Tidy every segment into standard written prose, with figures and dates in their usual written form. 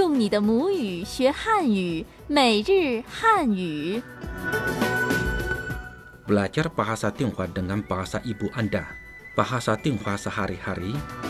用你的母语学汉语，每日汉语。 Belajar bahasa Tionghoa dengan bahasa ibu Anda. Bahasa Tionghoa sehari-hari.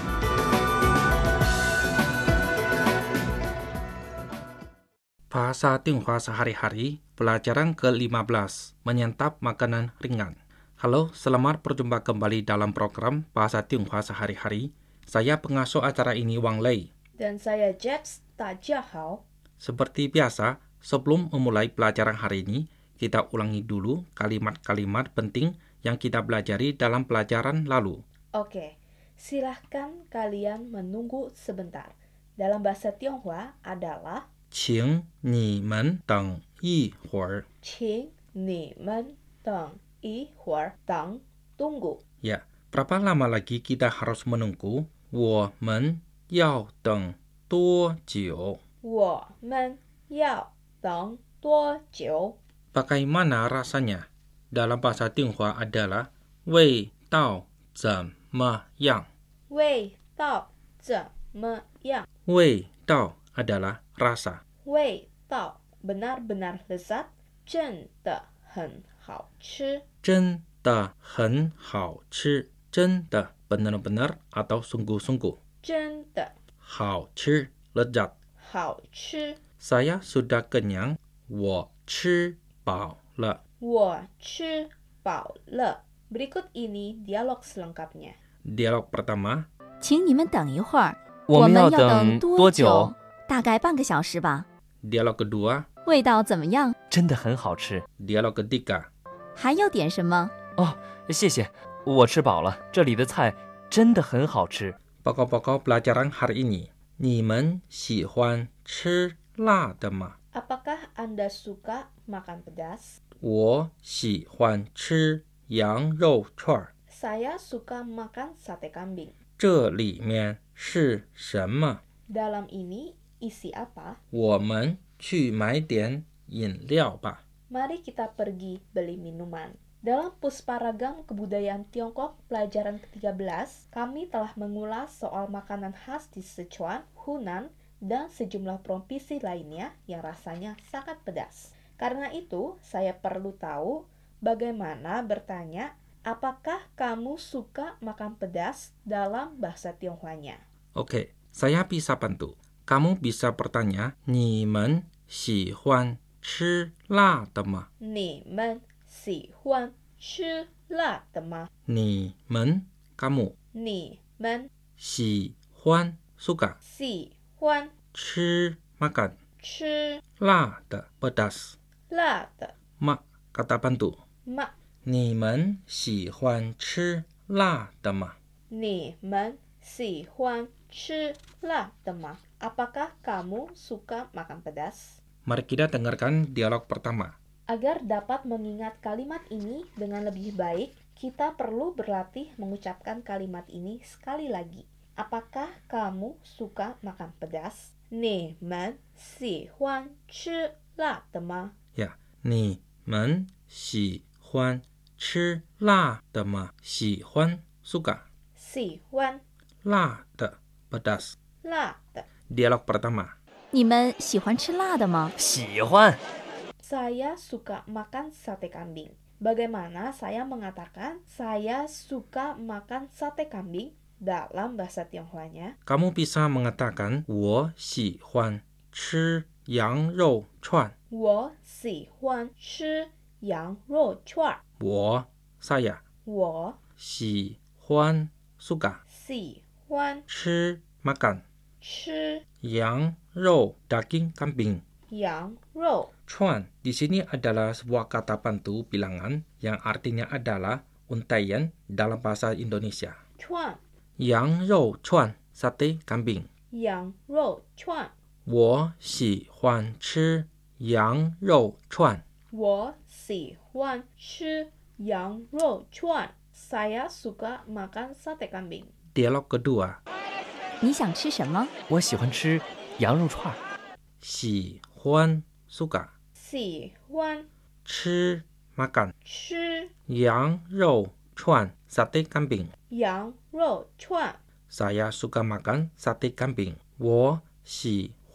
Bahasa Tionghoa sehari-hari, pelajaran ke-15, menyantap makanan ringan. Halo, selamat berjumpa kembali dalam program Bahasa Tionghoa sehari-hari. Saya pengasuh acara ini Wang Lei. Dan saya Jeps, 大家好. Seperti biasa, sebelum memulai pelajaran hari ini, kita ulangi dulu kalimat-kalimat penting yang kita pelajari dalam pelajaran lalu. Oke, silahkan kalian menunggu sebentar. Dalam bahasa Tionghoa adalah 请你们等一会儿. 请你们等一会儿, 等 tunggu. Ya, berapa lama lagi kita harus menunggu? 我们要等多久? 我们要等多久? Bagaimana rasanya? Dalam bahasa Tionghoa adalah 味道怎么样? 味道怎么样? 味道 adalah rasa. 味道 benar-benar lezat, 真的很好吃. 真的很好吃. 真的 benar-benar atau sungguh-sungguh. 真的好吃 lezat. 好吃. Saya sudah kenyang. 我吃饱了. 我吃饱了. Berikut ini dialog selengkapnya. Dialog pertama. 请你们等一会儿， 我们要等等多多久？ 大概半个小时吧。 Dialog kedua. 味道怎么样？ 真的很好吃 Dialog ketiga. 还要点什么？ 哦，谢谢，我吃饱了。这里的菜真的很好吃。 Pokok-pokok pelajaran hari ini. 你们喜欢吃辣的吗? Apakah Anda suka makan pedas? 我喜欢吃羊肉串. Saya suka makan sate kambing. 这里面是什么? Dalam ini isi apa? 我们去买点饮料吧. Mari kita pergi beli minuman. Dalam Pusparagam Kebudayaan Tiongkok pelajaran ke-13, kami telah mengulas soal makanan khas di Sichuan, Hunan, dan sejumlah provinsi lainnya yang rasanya sangat pedas. Karena itu, saya perlu tahu bagaimana bertanya, apakah kamu suka makan pedas dalam bahasa Tionghoanya? Oke, saya bisa bantu. Kamu bisa bertanya, 你们喜欢吃辣的吗? 你们喜欢吃辣的吗? 你们 kamu. 你们喜欢 suka. 喜欢吃 makan. 吃辣的 pedas. 辣的 Ma kata bantu. 吗？ 你们喜欢吃辣的吗? 你们喜欢吃辣的吗? Apakah kamu suka makan pedas? Mari kita dengarkan dialog pertama. Agar dapat mengingat kalimat ini dengan lebih baik, kita perlu berlatih mengucapkan kalimat ini sekali lagi. Apakah kamu suka makan pedas? 你们喜欢吃辣的吗? Ya, 你们喜欢吃辣的吗? 喜欢 suka. 喜欢辣的 pedas. 辣的 Dialog pertama. 你们喜欢吃辣的吗？ 喜欢。 Saya suka makan sate kambing. Bagaimana saya mengatakan saya suka makan sate kambing dalam bahasa Tionghoanya? Kamu bisa mengatakan 我喜欢吃羊肉串. 我喜欢吃羊肉串。 我 saya 我喜欢 suka 喜欢吃 makan 吃羊肉 daging kambing. 羊肉。 Chuan di sini adalah sebuah kata bantu bilangan yang artinya adalah untaian dalam bahasa Indonesia. 串 Yang rou chuan sate kambing. 羊肉串。 我喜欢吃羊肉串。 我喜欢吃羊肉串。Saya suka makan sate kambing. Dialog kedua. 你想吃什么？ 我喜欢吃羊肉串。 喜欢 suka 喜欢吃 makan 吃羊肉串 sate kambing. 羊肉串。 Saya suka makan sate kambing. 我喜欢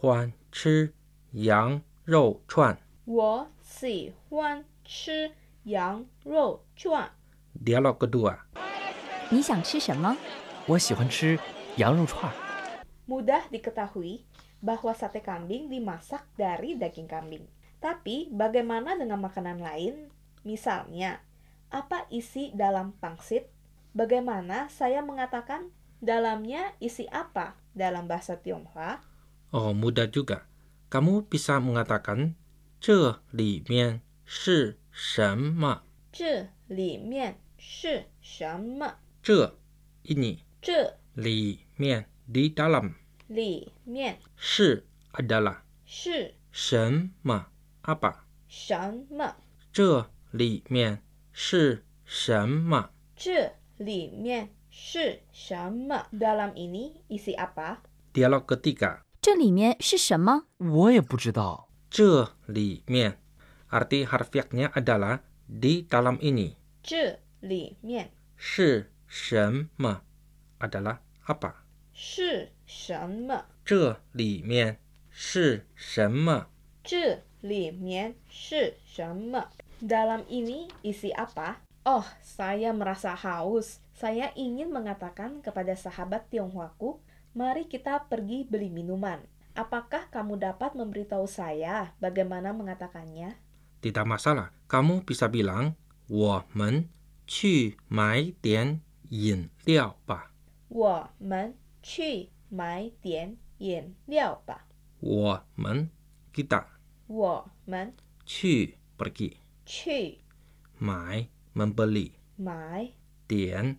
吃羊肉串。 我喜欢吃羊肉串。 Dialog kedua. 你想吃什么？ 我喜欢吃羊肉串。 Mudah diketahui bahwa sate kambing dimasak dari daging kambing. Tapi bagaimana dengan makanan lain? Misalnya, apa isi dalam pangsit? Bagaimana saya mengatakan dalamnya isi apa dalam bahasa Tionghoa? Oh, mudah juga. Kamu bisa mengatakan 这里面是什么？ 这里面是什么？ 这 ini 这里面 di dalam 里面是 adalah 是什么 apa 什么？ 这里面是什么这里面是什么？Dalam ini isi apa? Dialog ketiga. 这里面是什么？ 我也不知道。 这里面 arti harfiahnya adalah di dalam ini. 这里面是什么 adalah apa? 是什么？ 这里面是什么？ 这里面是什么？Dalam ini isi apa? Oh, saya merasa haus. Saya ingin mengatakan kepada sahabat Tionghoaku, mari kita pergi beli minuman. Apakah kamu dapat memberitahu saya bagaimana mengatakannya? Tidak masalah. Kamu bisa bilang 我们去买点饮料吧。 我们去买点饮料吧。 我们 kita 我们去 pergi 去买 membeli 买点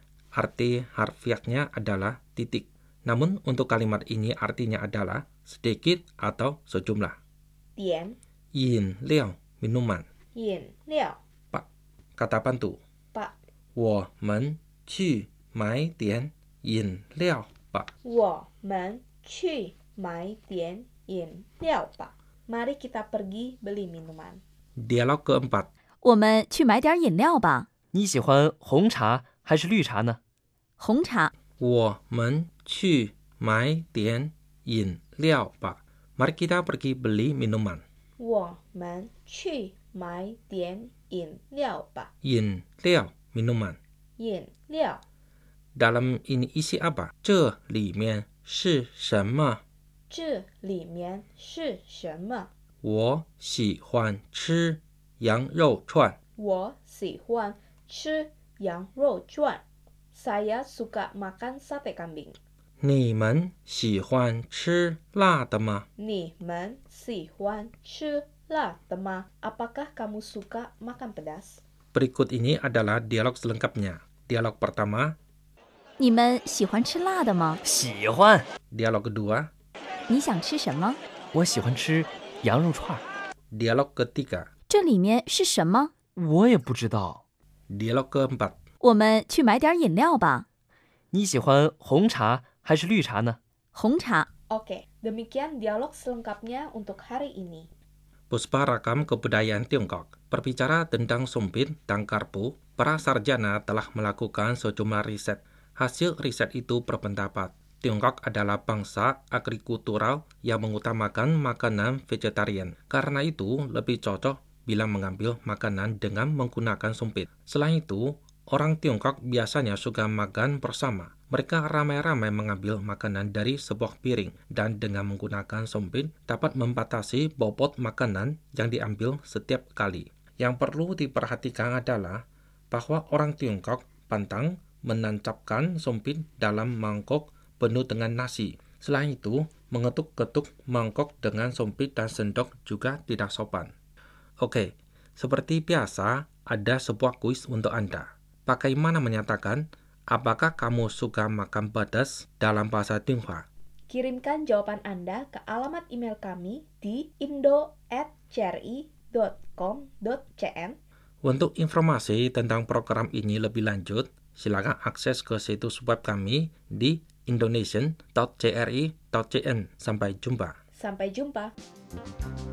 arti harfiahnya adalah titik. Namun untuk kalimat ini artinya adalah sedikit atau sejumlah. 点饮料 minuman. 饮料 Pak, kata bantu. 吧。 我们去买点饮料吧。 我们去买点饮料吧。Mari kita pergi beli minuman. Dialog keempat. 我们去买点饮料吧。 你喜欢红茶还是绿茶呢？ 红茶。 我们去买点饮料吧。Mari kita pergi beli minuman. 我们去买点饮料吧。 饮料 minuman. 饮料 Dalam ini isi apa? 这里面是什么？ 这里面是什么？ 我喜欢吃羊肉串。 我喜欢吃羊肉串。Saya suka makan sate kambing. 你们喜欢吃辣的吗？ 你们喜欢吃辣的吗？Apakah kamu suka makan pedas? Berikut ini adalah dialog selengkapnya. Dialog pertama, 你们喜欢吃辣的吗？ 喜欢。 dialog kedua, 你想吃什么？ 我喜欢吃羊肉串。 dialog ketiga, 这里面是什么？ 我也不知道。 dialog keempat. 我们去买点饮料吧。 你喜欢红茶还是绿茶呢？ 红茶。 Oke, demikian dialog selengkapnya untuk hari ini. Puspa Rakam Kebudayaan Tiongkok berbicara tentang sumpit dan karpu. Para sarjana telah melakukan sejumlah riset. Hasil riset itu berpendapat Tiongkok adalah bangsa agrikultural yang mengutamakan makanan vegetarian. Karena itu, lebih cocok bila mengambil makanan dengan menggunakan sumpit. Selain itu, orang Tiongkok biasanya suka makan bersama. Mereka ramai-ramai mengambil makanan dari sebuah piring dan dengan menggunakan sumpit dapat membatasi bobot makanan yang diambil setiap kali. Yang perlu diperhatikan adalah bahwa orang Tiongkok pantang menancapkan sumpit dalam mangkok penuh dengan nasi. Selain itu, mengetuk-ketuk mangkok dengan sumpit dan sendok juga tidak sopan. Oke, seperti biasa, ada sebuah kuis untuk Anda. Bagaimana menyatakan apakah kamu suka makan pedas dalam bahasa Tionghoa? Kirimkan jawaban Anda ke alamat email kami di indo@cri.com.cn. Untuk informasi tentang program ini lebih lanjut, silakan akses ke situs web kami di indonesian.cri.cn. Sampai jumpa. Sampai jumpa.